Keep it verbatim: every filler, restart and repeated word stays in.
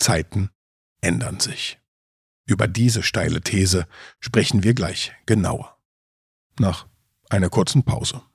Zeiten ändern sich. Über diese steile These sprechen wir gleich genauer. Nach einer kurzen Pause.